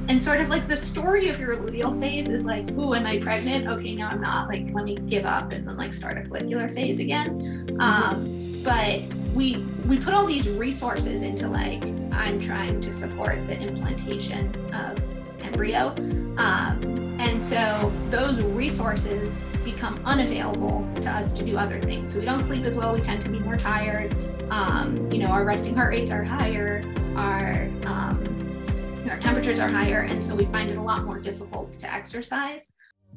And sort of like the story of your luteal phase is like, ooh, am I pregnant? Okay, no, I'm not. Like, let me give up and then like start a follicular phase again. But we put all these resources into like, I'm trying to support the implantation of embryo. And so those resources become unavailable to us to do other things. So we don't sleep as well. We tend to be more tired. Our resting heart rates are higher. Our temperatures are higher, and so we find it a lot more difficult to exercise.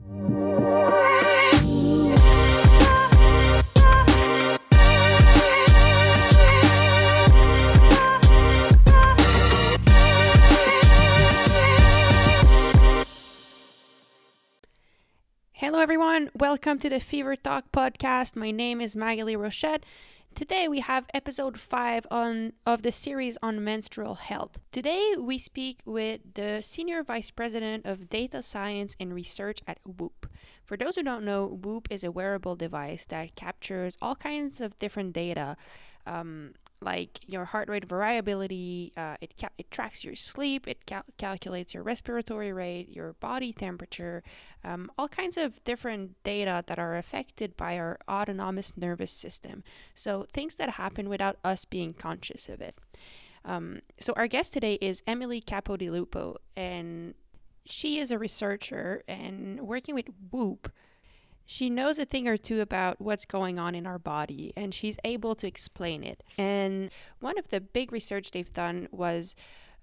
Hello everyone, welcome to the Fever Talk podcast. My name is Magali Rochette. Today we have episode 5 of the series on menstrual health. Today we speak with the Senior Vice President of Data Science and Research at Whoop. For those who don't know, Whoop is a wearable device that captures all kinds of different data, like your heart rate variability, it tracks your sleep, it calculates your respiratory rate, your body temperature, all kinds of different data that are affected by our autonomous nervous system. So things that happen without us being conscious of it. So our guest today is Emily Capodilupo, and she is a researcher and working with Whoop. She knows a thing or two about what's going on in our body, and she's able to explain it. And one of the big research they've done was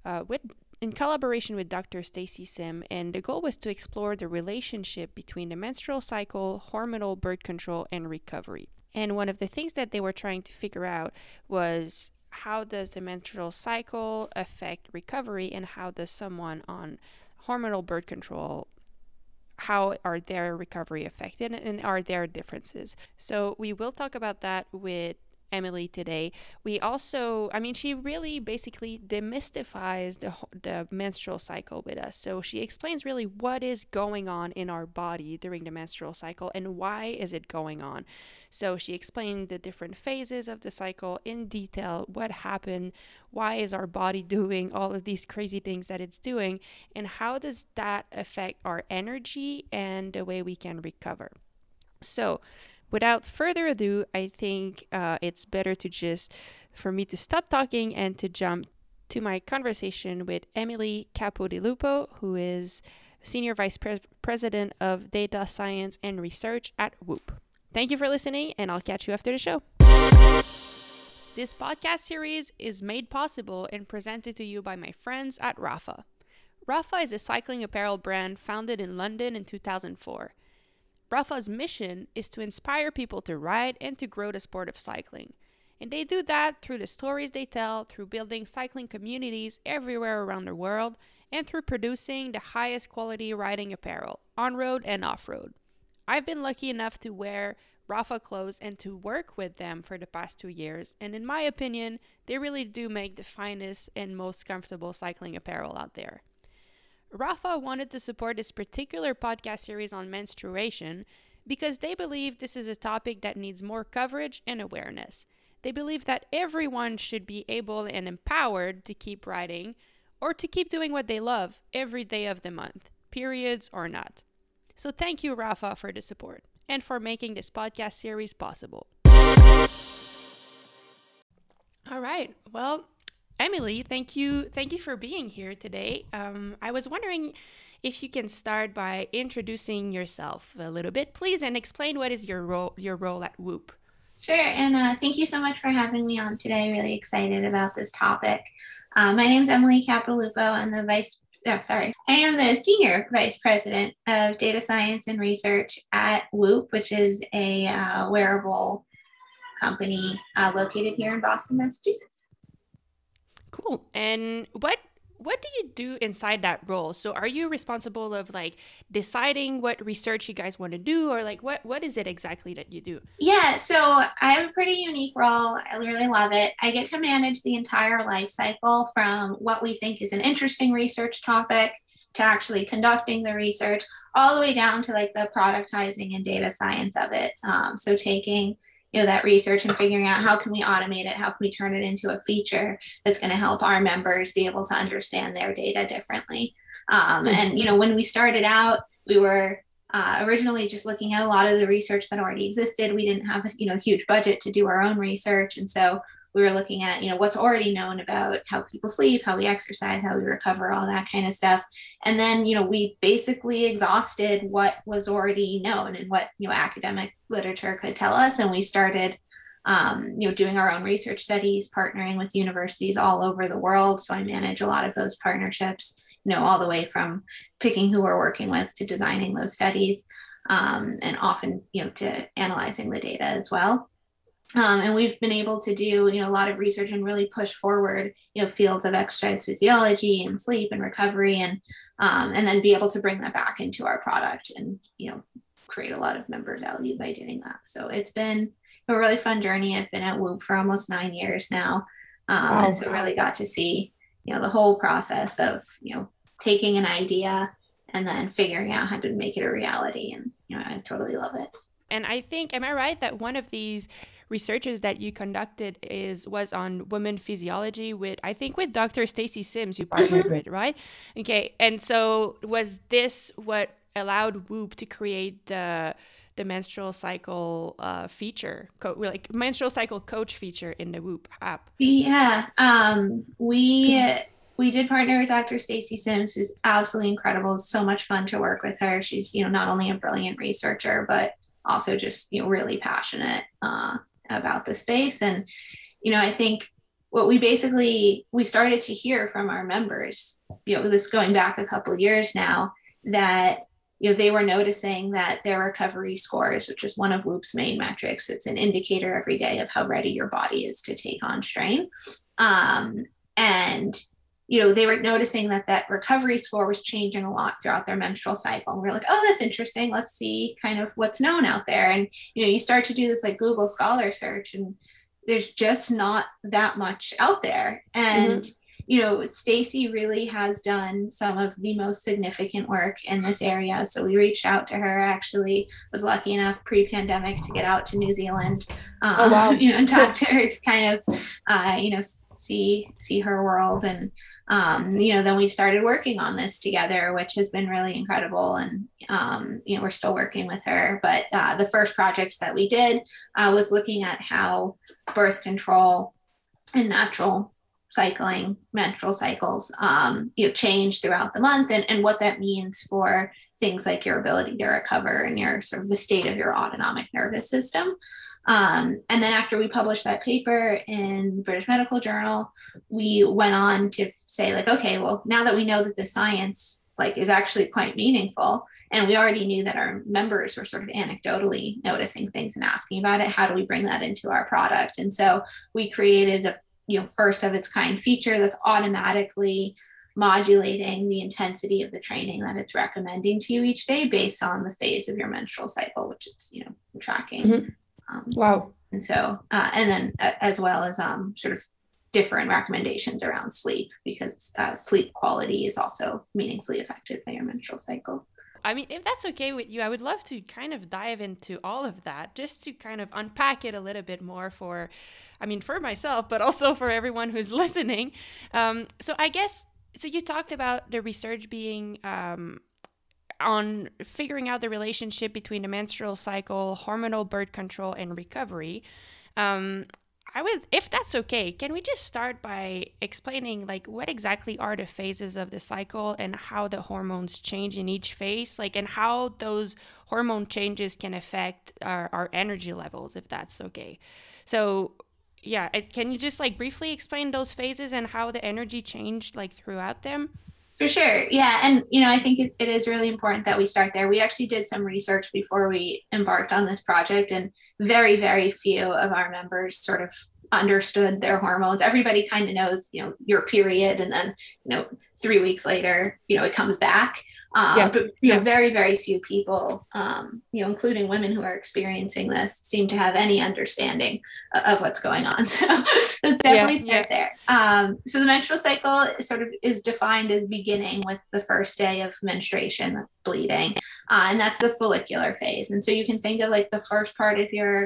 in collaboration with Dr. Stacy Sim, and the goal was to explore the relationship between the menstrual cycle, hormonal birth control, and recovery. And one of the things that they were trying to figure out was how does the menstrual cycle affect recovery, and how does someone on hormonal birth control, how are their recovery affected, and are there differences? So we will talk about that with Emily today. We also, she really basically demystifies the menstrual cycle with us. So she explains really what is going on in our body during the menstrual cycle and why is it going on. So she explained the different phases of the cycle in detail, what happened, why is our body doing all of these crazy things that it's doing, and how does that affect our energy and the way we can recover. So without further ado, I think it's better for me to stop talking and to jump to my conversation with Emily Capodilupo, who is Senior Vice President of Data Science and Research at Whoop. Thank you for listening, and I'll catch you after the show. This podcast series is made possible and presented to you by my friends at Rapha. Rapha is a cycling apparel brand founded in London in 2004. Rapha's mission is to inspire people to ride and to grow the sport of cycling. And they do that through the stories they tell, through building cycling communities everywhere around the world, and through producing the highest quality riding apparel, on-road and off-road. I've been lucky enough to wear Rapha clothes and to work with them for the past 2 years, and in my opinion, they really do make the finest and most comfortable cycling apparel out there. Rapha wanted to support this particular podcast series on menstruation because they believe this is a topic that needs more coverage and awareness. They believe that everyone should be able and empowered to keep riding or to keep doing what they love every day of the month, periods or not. So thank you, Rapha, for the support and for making this podcast series possible. All right. Well, Emily, thank you for being here today. I was wondering if you can start by introducing yourself a little bit, please, and explain what is your role at Whoop. Sure, and thank you so much for having me on today. Really excited about this topic. My name is Emily Capodilupo. I am the Senior Vice President of Data Science and Research at Whoop, which is a wearable company located here in Boston, Massachusetts. Cool. And what do you do inside that role? So are you responsible of like deciding what research you guys want to do, or like what is it exactly that you do? Yeah, so I have a pretty unique role. I really love it. I get to manage the entire life cycle from what we think is an interesting research topic to actually conducting the research, all the way down to like the productizing and data science of it. So taking that research and figuring out how can we automate it, how can we turn it into a feature that's going to help our members be able to understand their data differently. And when we started out, we were originally just looking at a lot of the research that already existed. We didn't have a huge budget to do our own research, and so we were looking at what's already known about how people sleep, how we exercise, how we recover, all that kind of stuff. And then we basically exhausted what was already known and what academic literature could tell us, and we started doing our own research studies, partnering with universities all over the world. So I manage a lot of those partnerships, all the way from picking who we're working with to designing those studies, and often, to analyzing the data as well. And we've been able to do, a lot of research and really push forward, fields of exercise physiology and sleep and recovery, and then be able to bring that back into our product and, create a lot of member value by doing that. So it's been a really fun journey. I've been at Whoop for almost 9 years now. And so really got to see, the whole process of, taking an idea and then figuring out how to make it a reality. And, I totally love it. And I think, am I right that one of these researches that you conducted was on women physiology with Dr. Stacy Sims you partnered with, right? Okay. And so was this what allowed Whoop to create the menstrual cycle feature, like menstrual cycle coach feature in the Whoop app? Yeah. We did partner with Dr. Stacy Sims, who's absolutely incredible. It's so much fun to work with her. She's, not only a brilliant researcher, but also just, really passionate about the space. And, I think what we started to hear from our members, this going back a couple of years now, that, they were noticing that their recovery scores, which is one of Whoop's main metrics, it's an indicator every day of how ready your body is to take on strain. And they were noticing that recovery score was changing a lot throughout their menstrual cycle. And we're like, oh, that's interesting. Let's see kind of what's known out there. And, you start to do this like Google Scholar search, and there's just not that much out there. And, Stacy really has done some of the most significant work in this area. So we reached out to her, actually was lucky enough pre-pandemic to get out to New Zealand, and talk to her to kind of, see her world. And, then we started working on this together, which has been really incredible. And, we're still working with her. But the first project that we did was looking at how birth control and natural cycling, menstrual cycles, change throughout the month, and what that means for things like your ability to recover and your sort of the state of your autonomic nervous system. And then after we published that paper in British Medical Journal, we went on to say like, okay, well, now that we know that the science is actually quite meaningful, and we already knew that our members were sort of anecdotally noticing things and asking about it, how do we bring that into our product? And so we created a first of its kind feature that's automatically modulating the intensity of the training that it's recommending to you each day based on the phase of your menstrual cycle, which it's, tracking. Mm-hmm. Wow. And so, and then as well as sort of different recommendations around sleep, because sleep quality is also meaningfully affected by your menstrual cycle. I mean, if that's okay with you, I would love to kind of dive into all of that, just to kind of unpack it a little bit more for myself, but also for everyone who's listening. So I guess, so you talked about the research being on figuring out the relationship between the menstrual cycle, hormonal birth control, and recovery. If that's okay, can we just start by explaining what exactly are the phases of the cycle and how the hormones change in each phase, and how those hormone changes can affect our energy levels, if that's okay. So yeah, can you just briefly explain those phases and how the energy changed throughout them? For sure. Yeah. And, I think it is really important that we start there. We actually did some research before we embarked on this project, and very, very few of our members sort of understood their hormones. Everybody kind of knows, your period, and then, 3 weeks later, it comes back. But very, very few people, including women who are experiencing this, seem to have any understanding of what's going on. So let's definitely start there. So the menstrual cycle sort of is defined as beginning with the first day of menstruation, that's bleeding, and that's the follicular phase. And so you can think of the first part of your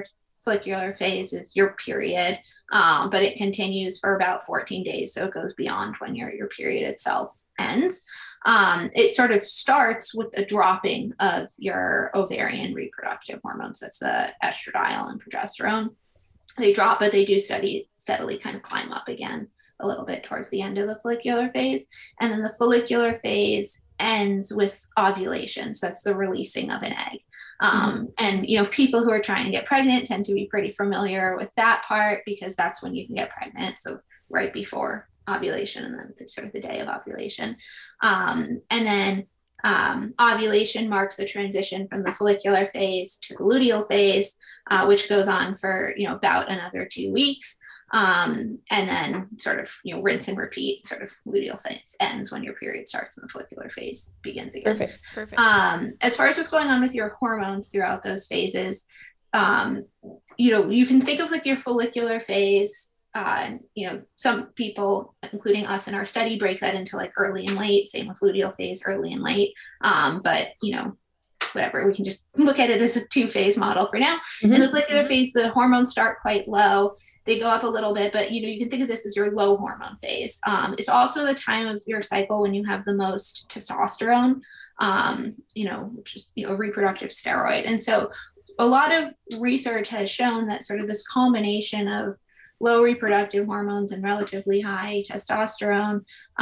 follicular phase is your period, but it continues for about 14 days. So it goes beyond when your period itself ends. It sort of starts with a dropping of your ovarian reproductive hormones. That's the estradiol and progesterone. They drop, but they do steadily kind of climb up again a little bit towards the end of the follicular phase. And then the follicular phase ends with ovulation. So that's the releasing of an egg. And, people who are trying to get pregnant tend to be pretty familiar with that part because that's when you can get pregnant. So right before ovulation and then sort of the day of ovulation. And then ovulation marks the transition from the follicular phase to the luteal phase, which goes on for, about another 2 weeks. And then sort of, rinse and repeat, sort of luteal phase ends when your period starts and the follicular phase begins again. Perfect. As far as what's going on with your hormones throughout those phases, you can think of like your follicular phase. Some people, including us in our study, break that into like early and late, same with luteal phase, early and late. But, whatever, we can just look at it as a 2-phase model for now. In the follicular phase, the hormones start quite low. They go up a little bit, but, you can think of this as your low hormone phase. It's also the time of your cycle when you have the most testosterone, which is, a reproductive steroid. And so a lot of research has shown that sort of this combination of low reproductive hormones and relatively high testosterone,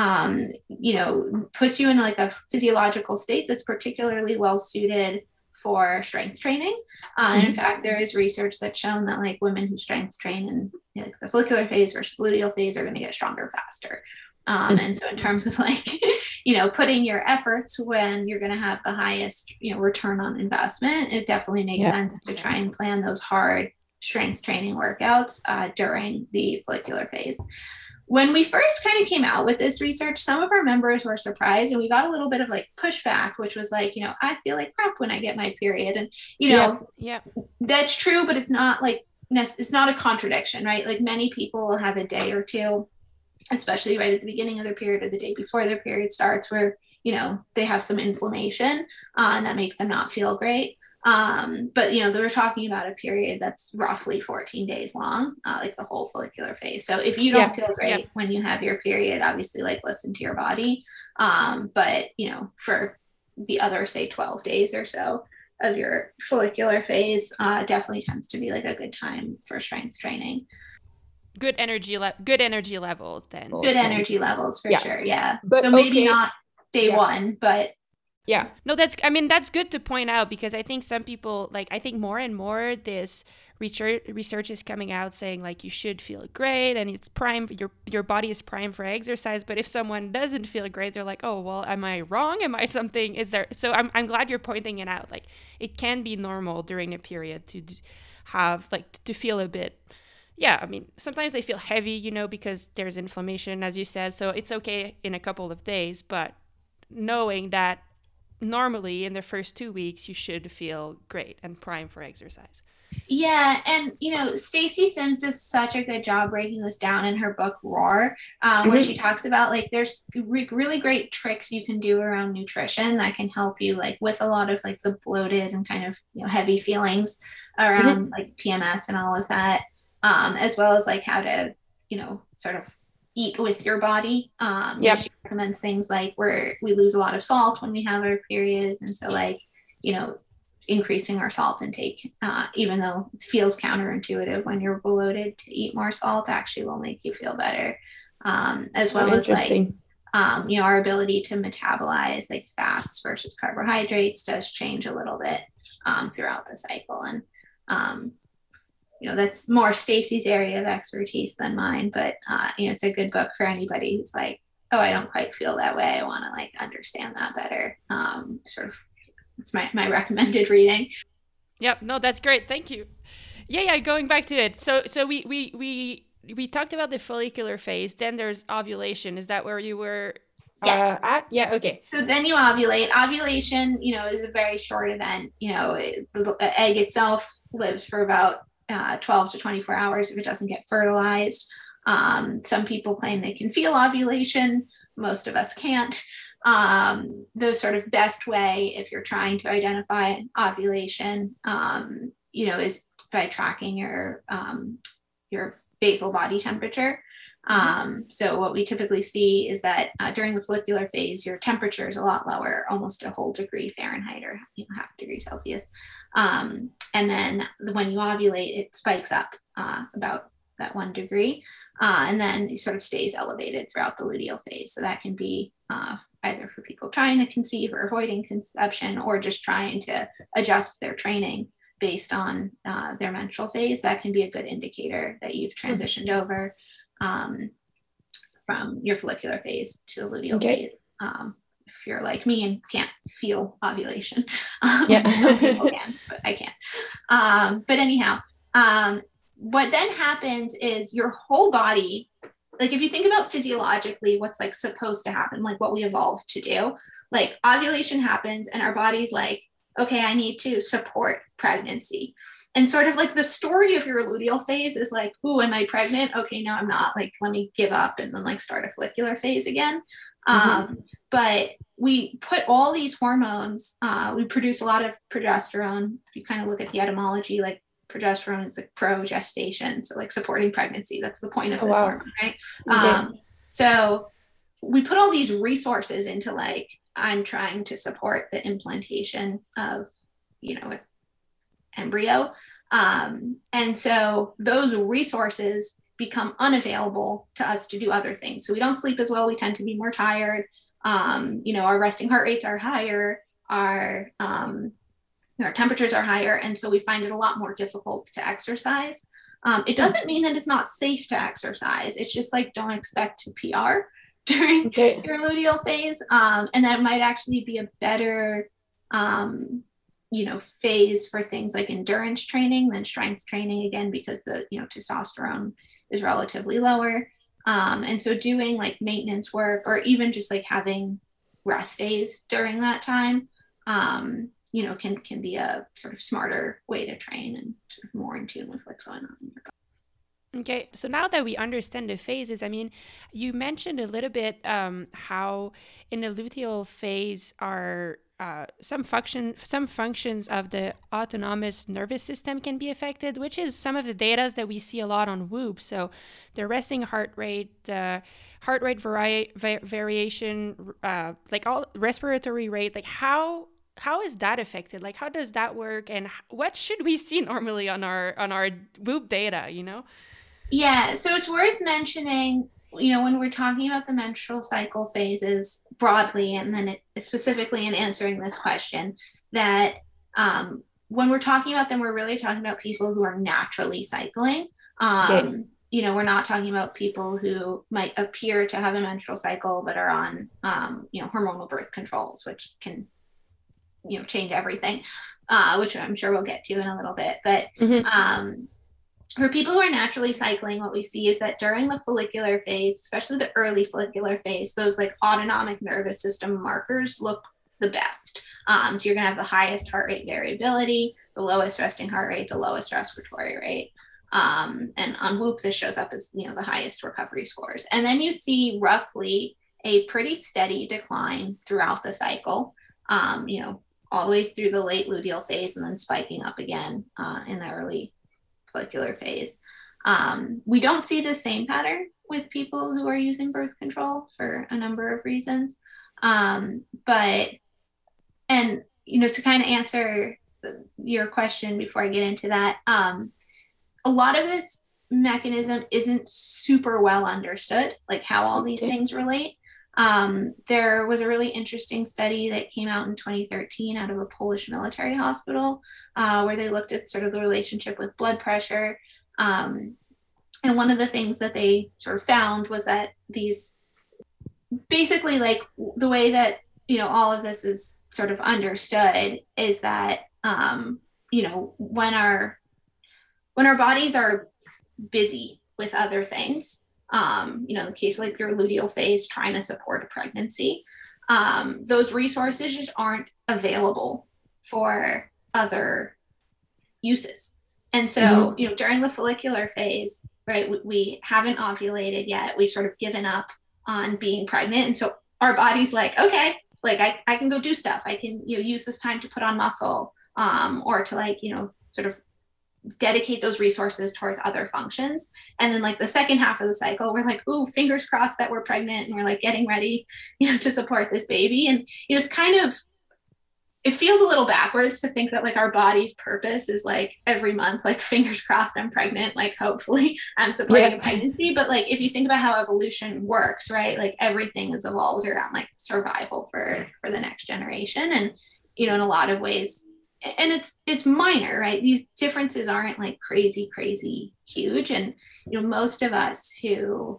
puts you in like a physiological state that's particularly well suited for strength training. In fact, there is research that's shown that like women who strength train in like the follicular phase versus luteal phase are going to get stronger faster. And so in terms of like, putting your efforts when you're going to have the highest, return on investment, it definitely makes sense to try and plan those hard strength training workouts during the follicular phase. When we first kind of came out with this research, some of our members were surprised and we got a little bit of like pushback, which was like, I feel like crap when I get my period. And, that's true, but it's not like, it's not a contradiction, right? Like many people will have a day or two, especially right at the beginning of their period or the day before their period starts where, they have some inflammation and that makes them not feel great. But they were talking about a period that's roughly 14 days long, like the whole follicular phase. So if you don't feel great when you have your period, obviously like listen to your body. But for the other, say 12 days or so of your follicular phase, definitely tends to be like a good time for strength training. Good energy levels then. Good energy levels for sure. Yeah. But so maybe not day one, but no, that's good to point out because I think some people I think more and more this research is coming out saying like you should feel great and it's prime, your body is prime for exercise. But if someone doesn't feel great, they're like, oh, well, am I wrong? Am I something? Is there? So I'm glad you're pointing it out. Like it can be normal during a period to have to feel a bit. Yeah, I mean, sometimes they feel heavy, because there's inflammation, as you said. So it's okay in a couple of days, but knowing that normally in the first 2 weeks you should feel great and prime for exercise. Yeah, and Stacy Sims does such a good job breaking this down in her book Roar, where she talks about there's really great tricks you can do around nutrition that can help you with a lot of the bloated and kind of heavy feelings around PMS and all of that, as well as how to sort of eat with your body. She recommends things where we lose a lot of salt when we have our periods, and so increasing our salt intake, even though it feels counterintuitive when you're bloated to eat more salt, actually will make you feel better, as well as our ability to metabolize fats versus carbohydrates does change a little bit throughout the cycle. And that's more Stacy's area of expertise than mine, but it's a good book for anybody who's oh, I don't quite feel that way, I want to understand that better. Sort of it's my recommended reading. Yep, no, that's great, thank you. Going back to it, so we talked about the follicular phase, then there's ovulation. Is that where you were at? Yeah, okay. So then you ovulate. Ovulation is a very short event. The egg itself lives for about 12 to 24 hours if it doesn't get fertilized. Some people claim they can feel ovulation. Most of us can't. The sort of best way if you're trying to identify ovulation, is by tracking your basal body temperature. So what we typically see is that during the follicular phase, your temperature is a lot lower, almost a whole degree Fahrenheit or half a degree Celsius. And then when you ovulate, it spikes up about that 1 degree, and then it sort of stays elevated throughout the luteal phase. So that can be either for people trying to conceive or avoiding conception, or just trying to adjust their training based on their menstrual phase. That can be a good indicator that you've transitioned over from your follicular phase to the luteal phase. If you're like me and can't feel ovulation, some people can, but I can't. But anyhow, what then happens is your whole body, like if you think about physiologically what's like supposed to happen, like what we evolved to do, like ovulation happens and our body's like, okay, I need to support pregnancy. And sort of like the story of your luteal phase is like, ooh, am I pregnant? Okay, no, I'm not. Like, let me give up and then like start a follicular phase again. But we put all these hormones, we produce a lot of progesterone. If you kind of look at the etymology, like progesterone is like progestation, so like supporting pregnancy. That's the point of this hormone, right? So we put all these resources into like, I'm trying to support the implantation of, an embryo. And so those resources become unavailable to us to do other things. So we don't sleep as well. We tend to be more tired. Our resting heart rates are higher. Our temperatures are higher. And so we find it a lot more difficult to exercise. It doesn't mean that it's not safe to exercise. It's just like, don't expect to PR during your luteal phase. And that might actually be a better, phase for things like endurance training than strength training, again, because the, testosterone is relatively lower. And so doing like maintenance work, or even just like having rest days during that time, can be a sort of smarter way to train and sort of more in tune with what's going on in your body. Okay, so now that we understand the phases, I mean, you mentioned a little bit how in the luteal phase are some functions of the autonomous nervous system can be affected, which is some of the data that we see a lot on Whoop. So the resting heart rate, the heart rate variation, like all respiratory rate, like how is that affected? Like, how does that work? And what should we see normally on our Whoop data, Yeah, so it's worth mentioning, when we're talking about the menstrual cycle phases broadly, and then specifically in answering this question, that when we're talking about them, we're really talking about people who are naturally cycling. We're not talking about people who might appear to have a menstrual cycle but are on, hormonal birth controls, which can, change everything, which I'm sure we'll get to in a little bit. But for people who are naturally cycling, what we see is that during the follicular phase, especially the early follicular phase, those like autonomic nervous system markers look the best. So you're going to have the highest heart rate variability, the lowest resting heart rate, the lowest respiratory rate. And on Whoop, this shows up as, the highest recovery scores. And then you see roughly a pretty steady decline throughout the cycle, all the way through the late luteal phase, and then spiking up again in the early follicular phase. We don't see the same pattern with people who are using birth control for a number of reasons. To kind of answer your question before I get into that, a lot of this mechanism isn't super well understood, like how all these things relate. There was a really interesting study that came out in 2013 out of a Polish military hospital, where they looked at sort of the relationship with blood pressure. And one of the things that they sort of found was that these basically, like, the way that, all of this is sort of understood is that, when our bodies are busy with other things, in the case like your luteal phase trying to support a pregnancy, those resources just aren't available for other uses. And so, during the follicular phase, right, we haven't ovulated yet. We've sort of given up on being pregnant. And so our body's like, okay, like I can go do stuff. I can, use this time to put on muscle, or to like, sort of dedicate those resources towards other functions. And then like the second half of the cycle, we're like, ooh, fingers crossed that we're pregnant and we're like getting ready, to support this baby. And it's kind of, it feels a little backwards to think that like our body's purpose is like every month, like fingers crossed I'm pregnant, like hopefully I'm supporting a pregnancy. But like if you think about how evolution works, right, like everything is evolved around like survival for the next generation. And in a lot of ways, and it's minor, right? These differences aren't like crazy huge. And most of us who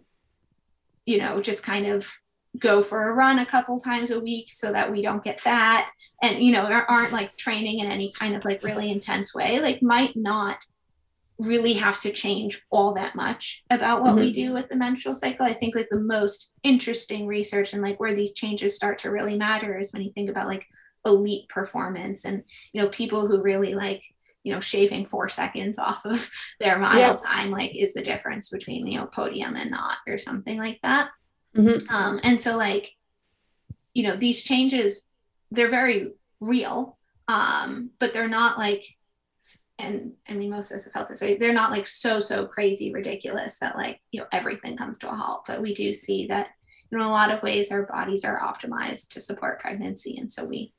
just kind of go for a run a couple times a week so that we don't get fat, and aren't like training in any kind of like really intense way, like might not really have to change all that much about what we do with the menstrual cycle. I think like the most interesting research and like where these changes start to really matter is when you think about like elite performance and people who really like shaving 4 seconds off of their mile time like is the difference between podium and not, or something like that. And so like these changes, they're very real, but they're not like, and I mean most of us have felt this, right? They're not like so crazy ridiculous that like everything comes to a halt. But we do see that in a lot of ways our bodies are optimized to support pregnancy, and so we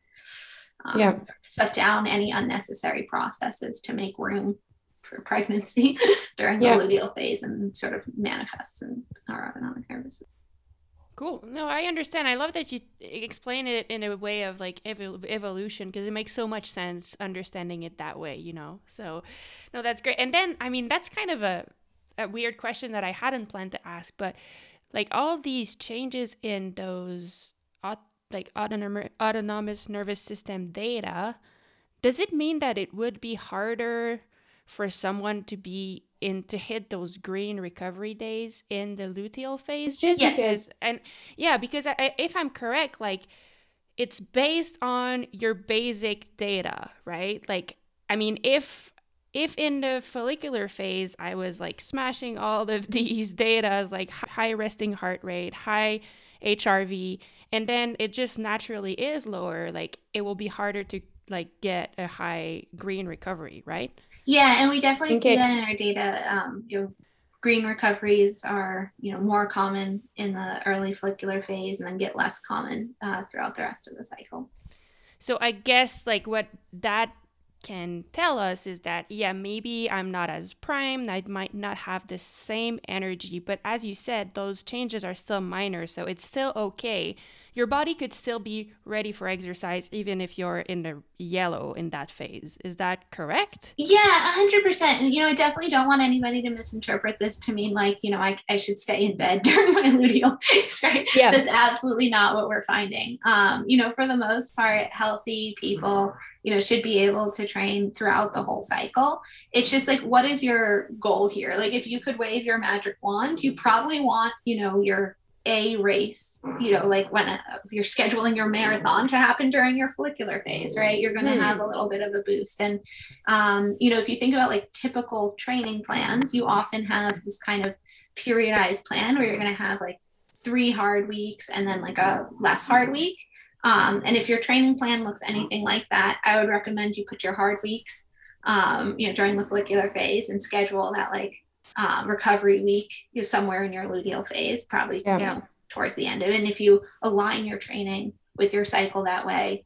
shut down any unnecessary processes to make room for pregnancy during the luteal phase, and sort of manifests in our autonomic nervous system. Cool. No, I understand. I love that you explain it in a way of like evolution, because it makes so much sense understanding it that way, So, no, that's great. And then, I mean, that's kind of a weird question that I hadn't planned to ask, but like all these changes in those autonomous nervous system data, does it mean that it would be harder for someone to hit those green recovery days in the luteal phase? Just because if I'm correct, like it's based on your basic data, right? Like, I mean, if in the follicular phase I was like smashing all of these data, like high resting heart rate, high HRV, and then it just naturally is lower, like it will be harder to like get a high green recovery, right? Yeah, and we definitely see that in our data. Green recoveries are more common in the early follicular phase, and then get less common throughout the rest of the cycle. So I guess like what that can tell us is that maybe I'm not as primed, I might not have the same energy, but as you said, those changes are still minor, so it's still okay. Your body could still be ready for exercise even if you're in the yellow in that phase. Is that correct? Yeah, 100%. And, I definitely don't want anybody to misinterpret this to mean like, I should stay in bed during my luteal phase, right? Yeah. That's absolutely not what we're finding. For the most part, healthy people, should be able to train throughout the whole cycle. It's just like, what is your goal here? Like, if you could wave your magic wand, you probably want, your a race, like when you're scheduling your marathon to happen during your follicular phase, right? You're going to have a little bit of a boost. And, if you think about like typical training plans, you often have this kind of periodized plan where you're going to have like 3 hard weeks and then like a less hard week. And if your training plan looks anything like that, I would recommend you put your hard weeks, during the follicular phase, and schedule that like recovery week somewhere in your luteal phase, probably towards the end of it. And if you align your training with your cycle that way,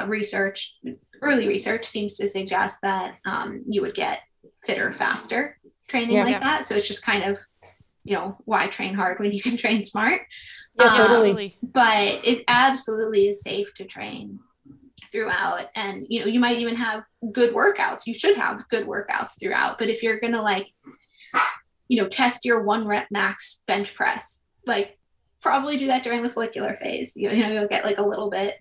early research seems to suggest that you would get fitter faster training like that. So it's just kind of why train hard when you can train smart. Totally. But it absolutely is safe to train throughout, and you might even have good workouts. You should have good workouts throughout, but if you're gonna like test your 1 rep max bench press, like probably do that during the follicular phase. You'll get like a little bit,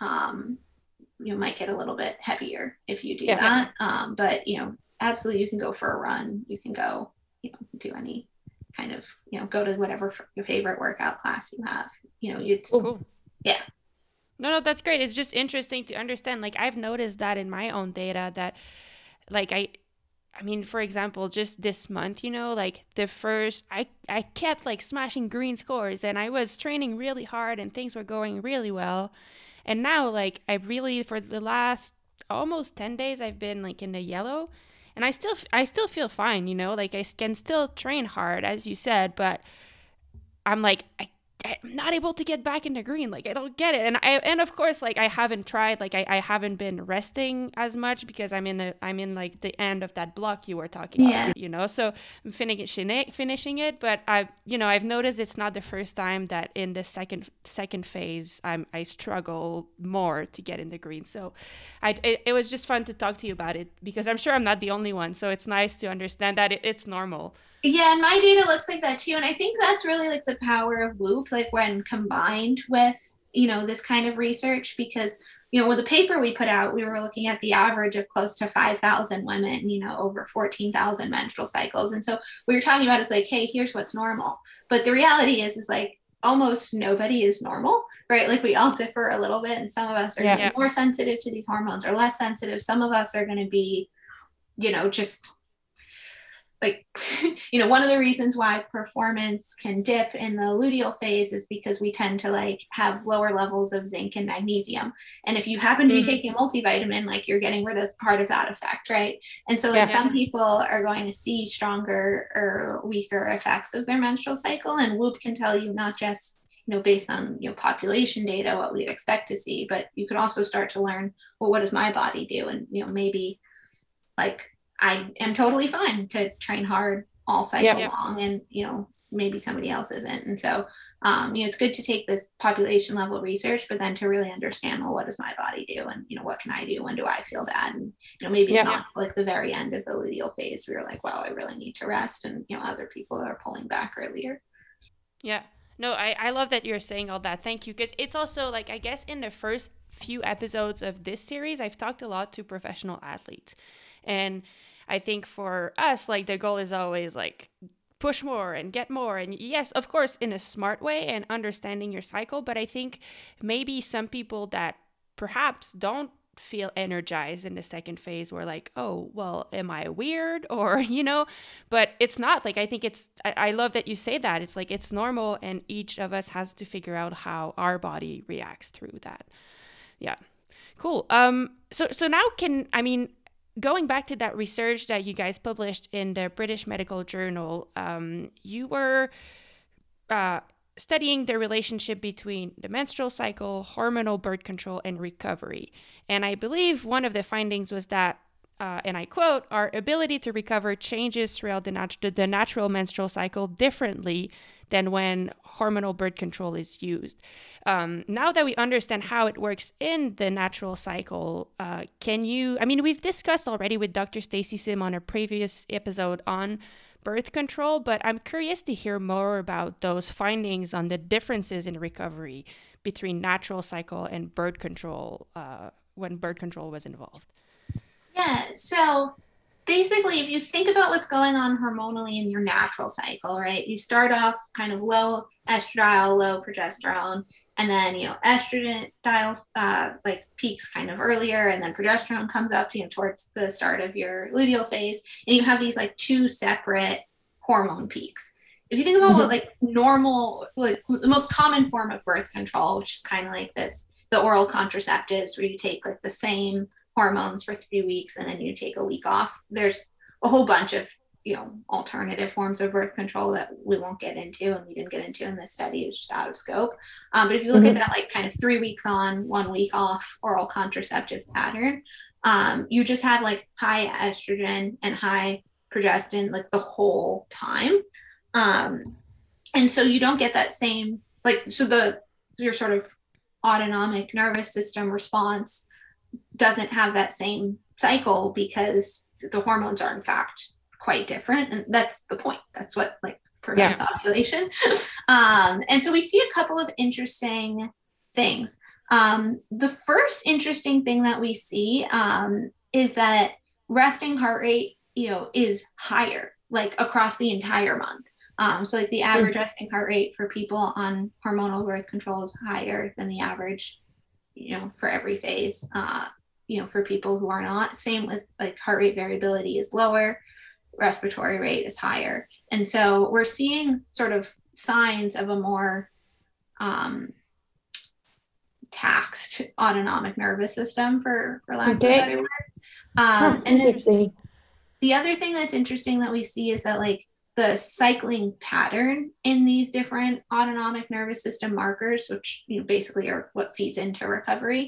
you might get a little bit heavier if you do that. But absolutely you can go for a run. You can go, do any kind of, go to whatever your favorite workout class you have. It's cool. Yeah. No, that's great. It's just interesting to understand. Like I've noticed that in my own data that like I mean, for example, just this month, like the first, I kept like smashing green scores, and I was training really hard and things were going really well. And now like I really, for the last almost 10 days, I've been like in the yellow. and I still feel fine, you know, like I can still train hard, as you said, but I'm like, I'm not able to get back into green. Like, I don't get it. And of course, like, I haven't tried, like, I haven't been resting as much because I'm in like the end of that block you were talking Yeah. about, you know, so I'm finishing it. But I've noticed it's not the first time that in the second phase, I struggle more to get in the green. So it was just fun to talk to you about it because I'm sure I'm not the only one. So it's nice to understand that it's normal. Yeah, and my data looks like that too. And I think that's really like the power of Whoop, like when combined with, this kind of research, because, with the paper we put out, we were looking at the average of close to 5,000 women, over 14,000 menstrual cycles. And so what you're talking about is like, hey, here's what's normal. But the reality is like almost nobody is normal, right? Like we all differ a little bit. And some of us are more sensitive to these hormones or less sensitive. Some of us are going to be, just like, one of the reasons why performance can dip in the luteal phase is because we tend to like have lower levels of zinc and magnesium. And if you happen to be taking a multivitamin, like you're getting rid of part of that effect, right? And so like some people are going to see stronger or weaker effects of their menstrual cycle. And Whoop can tell you not just, based on, population data, what we'd expect to see, but you could also start to learn, well, what does my body do? And, maybe like, I am totally fine to train hard all cycle long, and maybe somebody else isn't. And so it's good to take this population level research, but then to really understand, well, what does my body do, and what can I do? When do I feel bad? And maybe it's not like the very end of the luteal phase we were like, wow, I really need to rest, and other people are pulling back earlier. Yeah. No, I love that you're saying all that. Thank you. Because it's also like, I guess in the first few episodes of this series, I've talked a lot to professional athletes. And I think for us, like the goal is always like push more and get more. And yes, of course, in a smart way and understanding your cycle. But I think maybe some people that perhaps don't feel energized in the second phase were like, oh, well, am I weird? Or, but it's not. Like, I think I love that you say that. It's like, it's normal. And each of us has to figure out how our body reacts through that. Yeah. Cool. So now going back to that research that you guys published in the British Medical Journal, you were studying the relationship between the menstrual cycle, hormonal birth control, and recovery. And I believe one of the findings was that, and I quote, our ability to recover changes throughout the natural menstrual cycle differently than when hormonal birth control is used. Now that we understand how it works in the natural cycle, we've discussed already with Dr. Stacy Sim on a previous episode on birth control, but I'm curious to hear more about those findings on the differences in recovery between natural cycle and birth control when birth control was involved. Yeah, so basically, if you think about what's going on hormonally in your natural cycle, right? You start off kind of low estradiol, low progesterone, and then, estrogen dials like peaks kind of earlier, and then progesterone comes up, towards the start of your luteal phase, and you have these like two separate hormone peaks. If you think about what like normal, like the most common form of birth control, which is kind of like the oral contraceptives where you take like the same hormones for 3 weeks and then you take a week off. There's a whole bunch of alternative forms of birth control that we won't get into, and we didn't get into in this study. It's just out of scope. But if you look at that like kind of 3 weeks on, 1 week off oral contraceptive pattern, you just have like high estrogen and high progestin like the whole time, and so you don't get that same your sort of autonomic nervous system response doesn't have that same cycle because the hormones are in fact quite different, and that's the point. That's what like prevents ovulation. And so we see a couple of interesting things. The first interesting thing that we see is that resting heart rate is higher like across the entire month. So like the average resting heart rate for people on hormonal birth control is higher than the average for every phase, for people who are not. Same with like heart rate variability is lower, respiratory rate is higher. And so we're seeing sort of signs of a more taxed autonomic nervous system, for lack of a better word. And interesting. The other thing that's interesting that we see is that like the cycling pattern in these different autonomic nervous system markers, which basically are what feeds into recovery,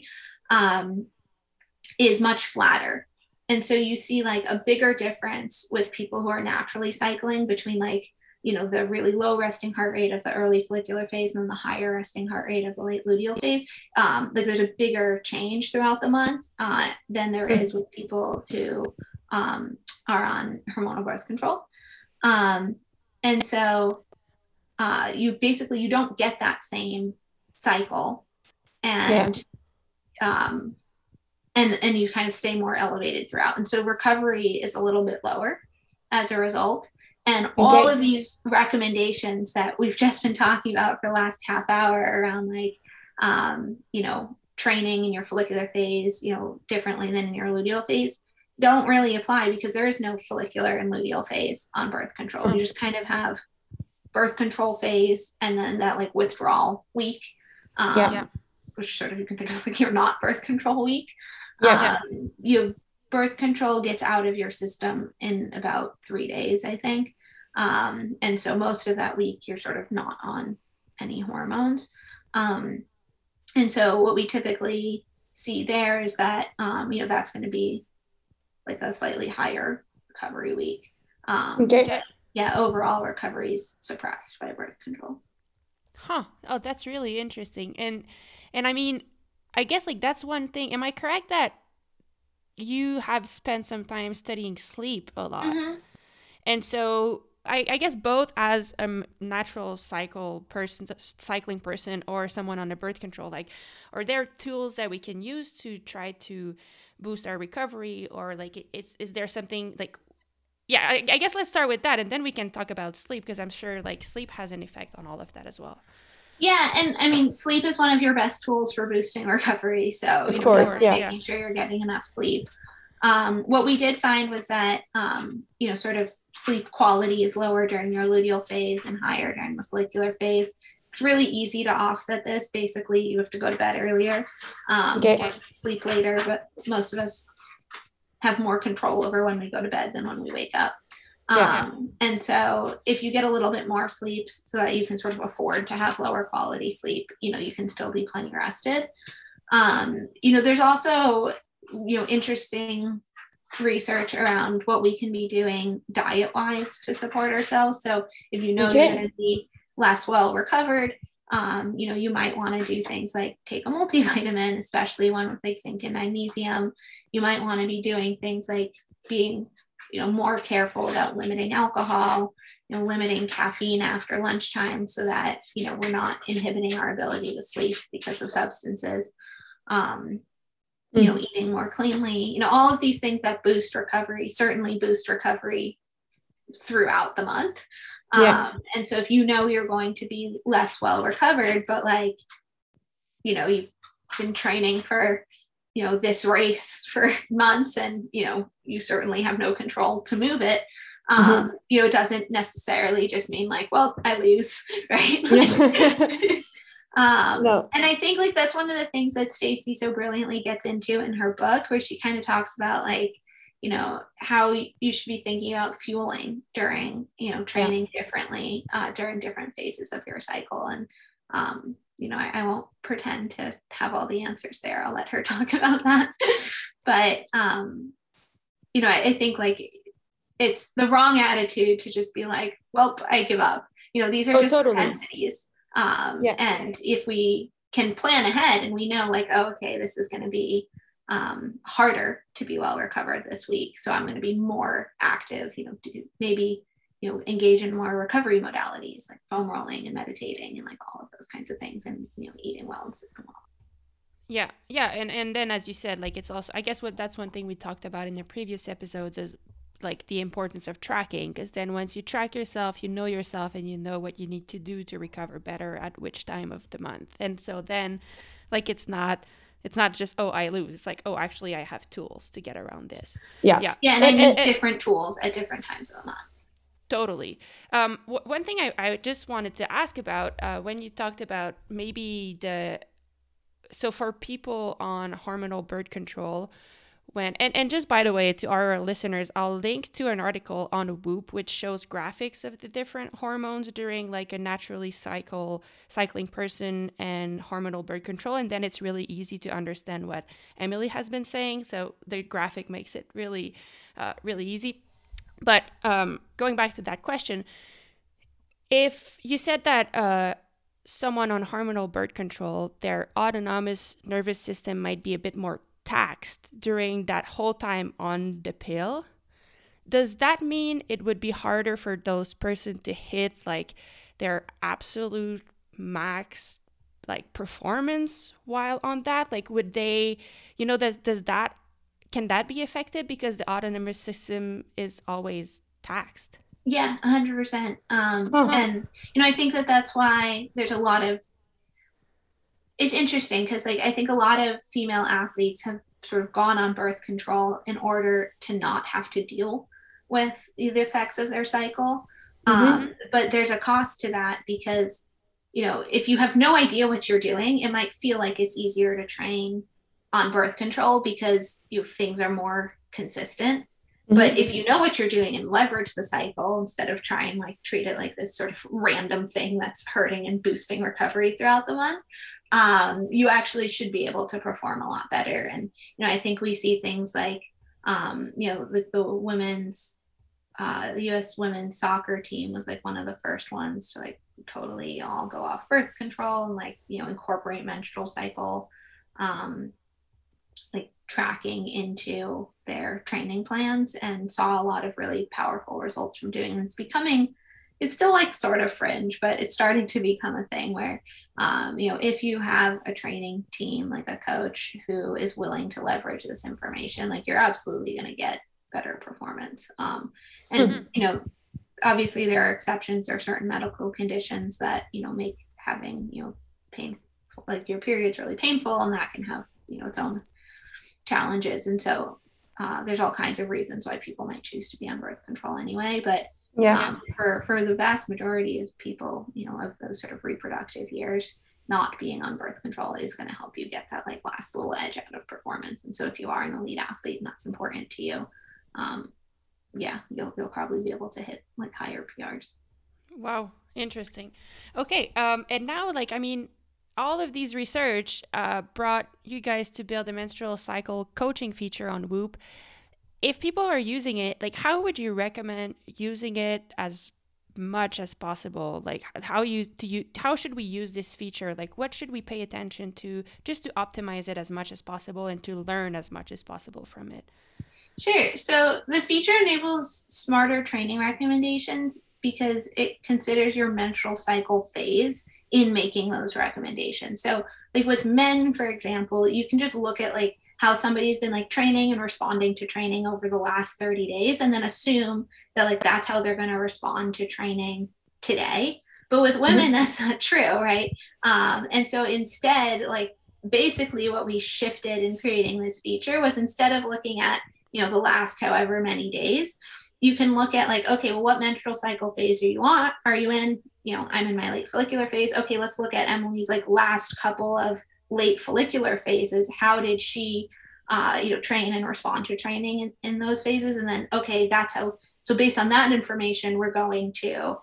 is much flatter. And so you see like a bigger difference with people who are naturally cycling between like, the really low resting heart rate of the early follicular phase and then the higher resting heart rate of the late luteal phase. Like there's a bigger change throughout the month than there is with people who are on hormonal birth control. And so you don't get that same cycle, and and you kind of stay more elevated throughout. And so recovery is a little bit lower as a result. And all of these recommendations that we've just been talking about for the last half hour around like, training in your follicular phase, differently than in your luteal phase, don't really apply because there is no follicular and luteal phase on birth control. You just kind of have birth control phase and then that like withdrawal week, which sort of you can think of like your not birth control week. Birth control gets out of your system in about 3 days, I think. And so most of that week you're sort of not on any hormones. And so what we typically see there is that, that's going to be like a slightly higher recovery week. Overall recovery is suppressed by birth control. Oh, that's really interesting. And I mean, I guess like that's one thing. Am I correct that you have spent some time studying sleep a lot? Mm-hmm. And so I guess both as a natural cycling person or someone on the birth control, like, are there tools that we can use to try to boost our recovery, or like is there something like, I guess let's start with that and then we can talk about sleep, because I'm sure like sleep has an effect on all of that as well. Yeah, and I mean, sleep is one of your best tools for boosting recovery. So of course, making sure you're getting enough sleep. What we did find was that sort of sleep quality is lower during your luteal phase and higher during the follicular phase. It's really easy to offset this. Basically, you have to go to bed earlier, or sleep later, but most of us have more control over when we go to bed than when we wake up. And so if you get a little bit more sleep so that you can sort of afford to have lower quality sleep, you can still be plenty rested. There's also, interesting research around what we can be doing diet wise to support ourselves. So if you're going to be less well recovered, you might want to do things like take a multivitamin, especially one with like zinc and magnesium. You might want to be doing things like being more careful about limiting alcohol, limiting caffeine after lunchtime so that, we're not inhibiting our ability to sleep because of substances, eating more cleanly, all of these things that certainly boost recovery throughout the month. And so if you're going to be less well recovered, but like, you've been training for this race for months and, you certainly have no control to move it. It doesn't necessarily just mean like, well, I lose, right? No. And I think like, that's one of the things that Stacey so brilliantly gets into in her book, where she kind of talks about like, how you should be thinking about fueling during, training differently during different phases of your cycle. And, I won't pretend to have all the answers there. I'll let her talk about that. But, I think like it's the wrong attitude to just be like, well, I give up. These are just propensities. And if we can plan ahead and we know like, oh, okay, this is going to be harder to be well recovered this week, so I'm going to be more active, maybe engage in more recovery modalities like foam rolling and meditating and like all of those kinds of things, and eating well and sleeping well. And then as you said, like it's also, I guess that's one thing we talked about in the previous episodes is like the importance of tracking, because then once you track yourself, you know yourself and you know what you need to do to recover better at which time of the month. And so then like it's not just, oh, I lose. It's like, oh, actually I have tools to get around this. And I need different tools at different times of the month. Totally. One thing I just wanted to ask about when you talked about maybe so for people on hormonal birth control, when, and just by the way, to our listeners, I'll link to an article on Whoop, which shows graphics of the different hormones during like a naturally cycling person and hormonal birth control. And then it's really easy to understand what Emily has been saying. So the graphic makes it really, really easy. But going back to that question, if you said that someone on hormonal birth control, their autonomous nervous system might be a bit more taxed during that whole time on the pill, does that mean it would be harder for those person to hit like their absolute max like performance while on that? Like would they, can that be affected because the autonomous system is always taxed? Yeah, 100%. And, I think that's why there's a lot of, it's interesting because like, I think a lot of female athletes have sort of gone on birth control in order to not have to deal with the effects of their cycle. But there's a cost to that because, if you have no idea what you're doing, it might feel like it's easier to train on birth control because things are more consistent. But if you know what you're doing and leverage the cycle instead of try and like treat it like this sort of random thing that's hurting and boosting recovery throughout the month, you actually should be able to perform a lot better. And, I think we see things like, the women's, the U.S. women's soccer team was like one of the first ones to like totally all go off birth control and like, incorporate menstrual cycle, like tracking into their training plans, and saw a lot of really powerful results from doing it. It's still like sort of fringe, but it's starting to become a thing where, if you have a training team, like a coach who is willing to leverage this information, like you're absolutely going to get better performance. Obviously there are exceptions. There are certain medical conditions that, make having, pain, like your period's really painful, and that can have, its own challenges. And so there's all kinds of reasons why people might choose to be on birth control anyway. But for the vast majority of people, of those sort of reproductive years, not being on birth control is going to help you get that like last little edge out of performance. And so if you are an elite athlete and that's important to you, you'll probably be able to hit like higher PRs. Wow, interesting. Okay, and now all of these research brought you guys to build a menstrual cycle coaching feature on Whoop. If people are using it, like how would you recommend using it as much as possible? Like how should we use this feature? Like what should we pay attention to just to optimize it as much as possible and to learn as much as possible from it? Sure. So the feature enables smarter training recommendations because it considers your menstrual cycle phase in making those recommendations. So like with men, for example, you can just look at like how somebody's been like training and responding to training over the last 30 days and then assume that like that's how they're going to respond to training today. But with women, that's not true, right? And so instead, like basically what we shifted in creating this feature was instead of looking at, the last however many days, you can look at like, okay, well, what menstrual cycle phase are you in? I'm in my late follicular phase. Okay, let's look at Emily's like last couple of late follicular phases. How did she, train and respond to training in those phases? And then, okay, so based on that information, we're going to,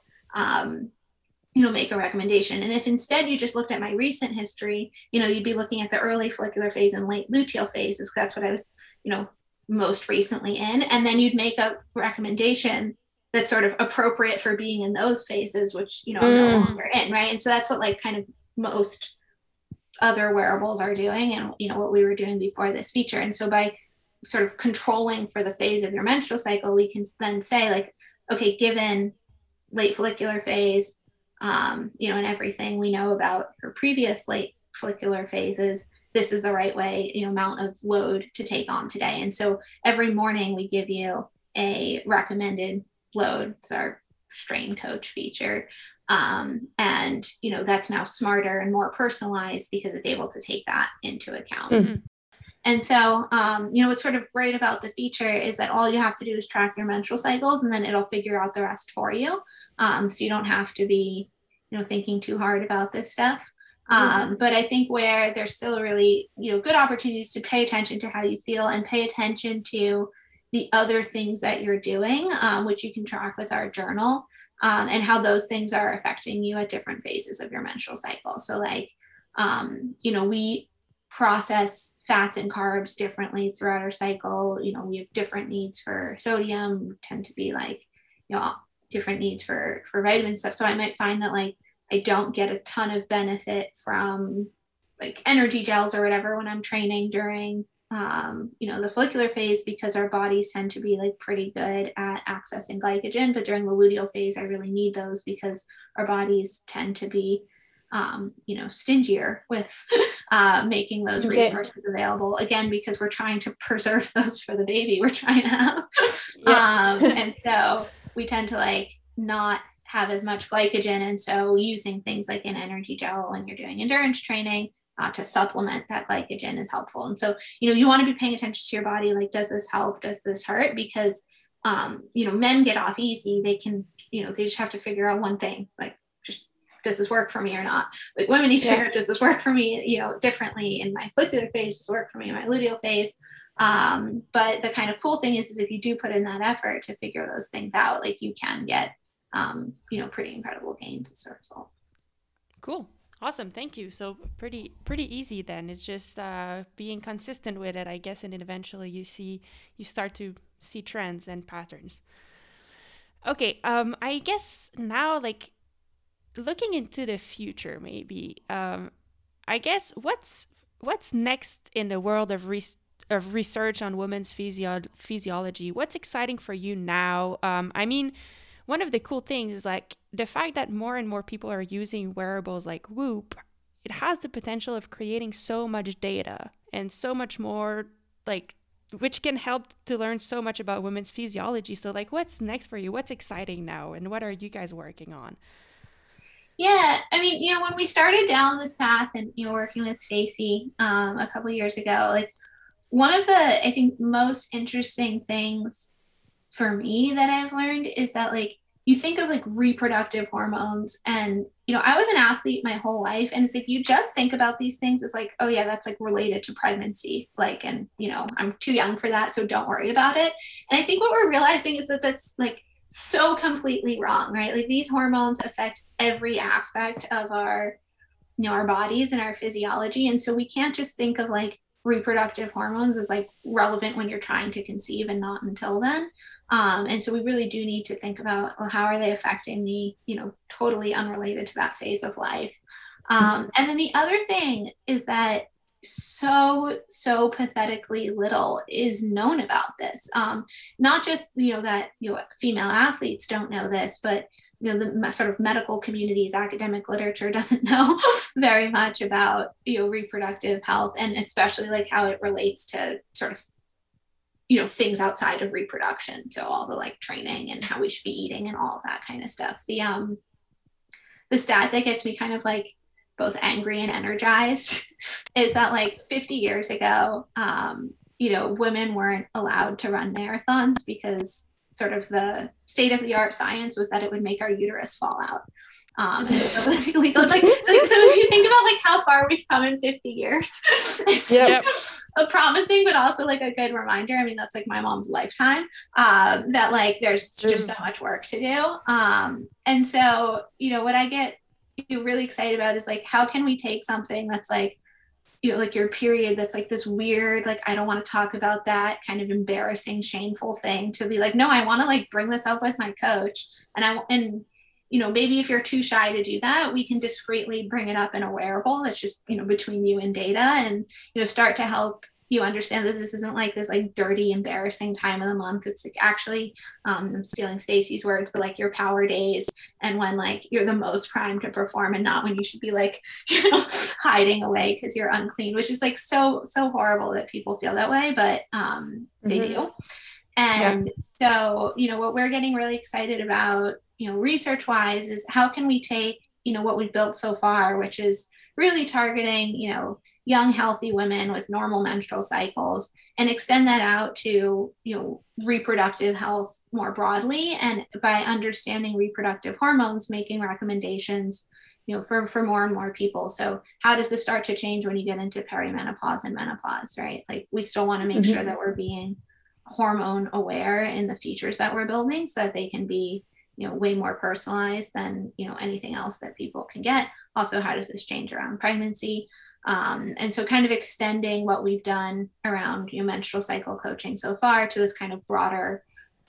make a recommendation. And if instead you just looked at my recent history, you'd be looking at the early follicular phase and late luteal phases, because that's what I was, most recently in. And then you'd make a recommendation that's sort of appropriate for being in those phases, which, I'm no longer in, right? And so that's what like kind of most other wearables are doing and, what we were doing before this feature. And so by sort of controlling for the phase of your menstrual cycle, we can then say like, okay, given late follicular phase, and everything we know about her previous late follicular phases, this is the right way, amount of load to take on today. And so every morning we give you a recommended load. It's our strain coach feature. And, that's now smarter and more personalized because it's able to take that into account. And so, what's sort of great about the feature is that all you have to do is track your menstrual cycles and then it'll figure out the rest for you. So you don't have to be, thinking too hard about this stuff. But I think where there's still really, good opportunities to pay attention to how you feel and pay attention to the other things that you're doing, which you can track with our journal, and how those things are affecting you at different phases of your menstrual cycle. So like, we process fats and carbs differently throughout our cycle. We have different needs for sodium, we tend to be like, different needs for vitamin stuff. So I might find that like, I don't get a ton of benefit from like energy gels or whatever when I'm training during, the follicular phase, because our bodies tend to be like pretty good at accessing glycogen. But during the luteal phase, I really need those because our bodies tend to be, stingier with making those resources available, again, because we're trying to preserve those for the baby we're trying to have. And so we tend to like not have as much glycogen. And so using things like an energy gel when you're doing endurance training to supplement that glycogen is helpful. And so, you want to be paying attention to your body. Like, does this help? Does this hurt? Because, men get off easy. They can, they just have to figure out one thing, like, just, does this work for me or not? Like, women need to figure out, does this work for me, differently in my follicular phase, does this work for me in my luteal phase? But the kind of cool thing is if you do put in that effort to figure those things out, like, you can get, pretty incredible gains as a result. Cool. Awesome. Thank you. So pretty easy then. It's just being consistent with it, I guess, and then eventually you start to see trends and patterns. Okay. I guess now, like, looking into the future, maybe, I guess what's next in the world of research on women's physiology? What's exciting for you now? I mean, one of the cool things is like the fact that more and more people are using wearables like Whoop. It has the potential of creating so much data and so much more, like, which can help to learn so much about women's physiology. So like, what's next for you? What's exciting now? And what are you guys working on? Yeah, I mean, when we started down this path and, working with Stacy a couple of years ago, like, one of the, I think, most interesting things for me that I've learned is that, like, you think of like reproductive hormones, and I was an athlete my whole life, and it's like you just think about these things as like, oh yeah, that's like related to pregnancy, like, and I'm too young for that, so don't worry about it. And I think what we're realizing is that that's like so completely wrong, right? Like, these hormones affect every aspect of our our bodies and our physiology, and so we can't just think of like reproductive hormones as like relevant when you're trying to conceive and not until then. And so we really do need to think about, well, how are they affecting me, totally unrelated to that phase of life. And then the other thing is that so pathetically little is known about this. Not just, that, female athletes don't know this, but, the sort of medical community's academic literature doesn't know very much about, reproductive health, and especially like how it relates to sort of things outside of reproduction. So all the like training and how we should be eating and all of that kind of stuff. The stat that gets me kind of like both angry and energized is that like 50 years ago, women weren't allowed to run marathons because sort of the state of the art science was that it would make our uterus fall out. So if you think about like how far we've come in 50 years, it's a promising, but also like a good reminder. I mean, that's like my mom's lifetime, that like there's just so much work to do. And so, what I get really excited about is like, how can we take something that's like, like your period, that's like this weird, like, I don't want to talk about that kind of embarrassing, shameful thing, to be like, no, I want to like bring this up with my coach. And maybe if you're too shy to do that, we can discreetly bring it up in a wearable that's just, between you and data, and, start to help you understand that this isn't like this like dirty, embarrassing time of the month. It's like actually, I'm stealing Stacy's words, but like your power days, and when like you're the most primed to perform, and not when you should be like, hiding away because you're unclean, which is like so horrible that people feel that way, but they do. And so, what we're getting really excited about, research wise, is how can we take, what we've built so far, which is really targeting, young, healthy women with normal menstrual cycles, and extend that out to, reproductive health more broadly. And by understanding reproductive hormones, making recommendations, for more and more people. So how does this start to change when you get into perimenopause and menopause, right? Like we still want to make sure that we're being hormone aware in the features that we're building so that they can be, way more personalized than, anything else that people can get. Also, how does this change around pregnancy? And so kind of extending what we've done around menstrual cycle coaching so far to this kind of broader,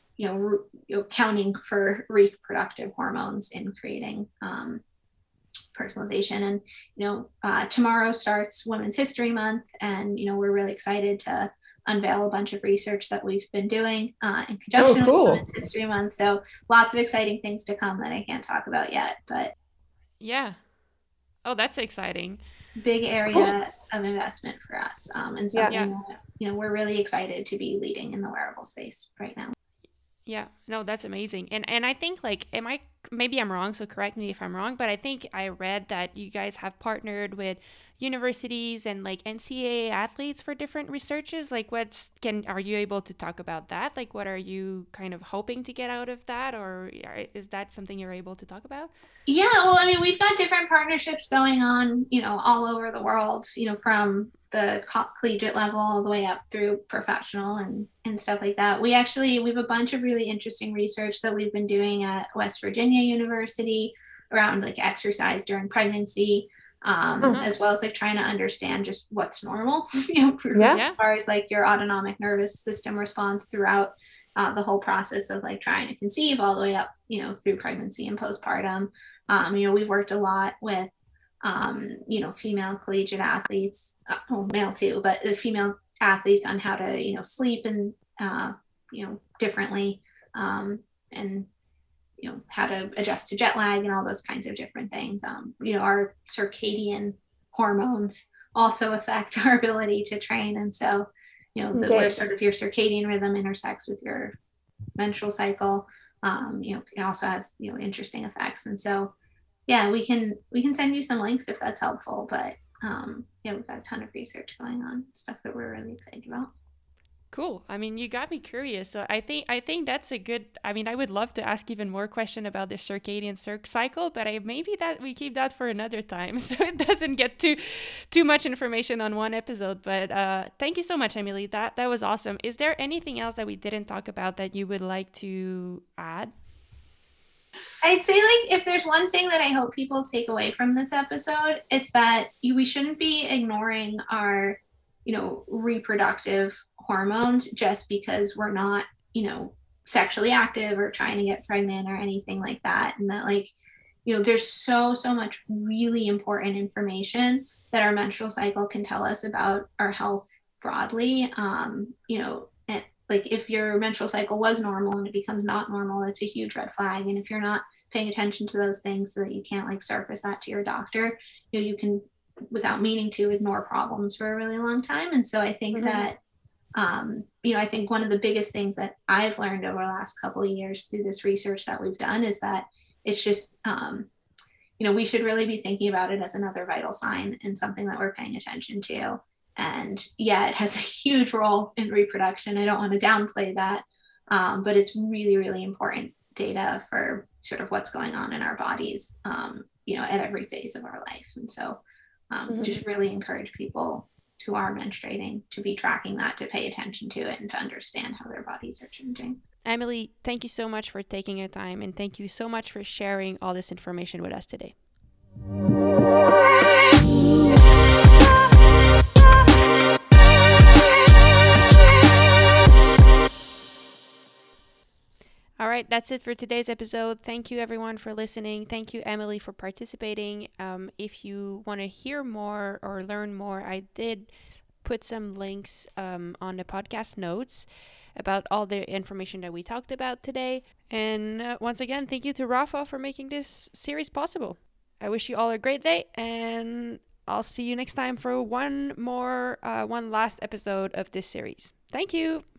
counting for reproductive hormones in creating personalization. And tomorrow starts Women's History Month, and we're really excited to unveil a bunch of research that we've been doing in conjunction with Women's History Month. So lots of exciting things to come that I can't talk about yet, but yeah. Oh, that's exciting. Big area of investment for us, and something that, we're really excited to be leading in the wearable space right now. Yeah, no, that's amazing. And I think maybe I'm wrong, so correct me if I'm wrong, but I think I read that you guys have partnered with universities and like NCAA athletes for different researches. Like are you able to talk about that? Like what are you kind of hoping to get out of that, or is that something you're able to talk about? Yeah, well, I mean, we've got different partnerships going on, all over the world, from the collegiate level all the way up through professional and stuff like that. We have a bunch of really interesting research that we've been doing at West Virginia University around like exercise during pregnancy, as well as like trying to understand just what's normal, as far as like your autonomic nervous system response throughout the whole process of like trying to conceive all the way up, through pregnancy and postpartum. We've worked a lot with female collegiate athletes, male too, but the female athletes on how to, sleep and, differently, and, how to adjust to jet lag and all those kinds of different things. Our circadian hormones also affect our ability to train. And so, where sort of your circadian rhythm intersects with your menstrual cycle, it also has, interesting effects. And so, yeah, we can send you some links if that's helpful, but we've got a ton of research going on, stuff that we're really excited about. Cool. I mean, you got me curious. So I think that's a good, I mean, I would love to ask even more question about the circadian cycle, but maybe that we keep that for another time so it doesn't get too much information on one episode. But thank you so much, Emily. That was awesome. Is there anything else that we didn't talk about that you would like to add? I'd say like if there's one thing that I hope people take away from this episode, it's that we shouldn't be ignoring our, reproductive hormones just because we're not, sexually active or trying to get pregnant or anything like that. And that like, there's so much really important information that our menstrual cycle can tell us about our health broadly. Like if your menstrual cycle was normal and it becomes not normal, that's a huge red flag. And if you're not paying attention to those things so that you can't like surface that to your doctor, you can, without meaning to, ignore problems for a really long time. And so I think that, I think one of the biggest things that I've learned over the last couple of years through this research that we've done is that it's just, we should really be thinking about it as another vital sign and something that we're paying attention to. And yeah, it has a huge role in reproduction. I don't want to downplay that, but it's really, really important data for sort of what's going on in our bodies, at every phase of our life. And so just really encourage people who are menstruating to be tracking that, to pay attention to it, and to understand how their bodies are changing. Emily, thank you so much for taking your time, and thank you so much for sharing all this information with us today. All right, that's it for today's episode. Thank you, everyone, for listening. Thank you, Emily, for participating. If you want to hear more or learn more, I did put some links on the podcast notes about all the information that we talked about today. And once again, thank you to Rafa for making this series possible. I wish you all a great day, and I'll see you next time for one last episode of this series. Thank you.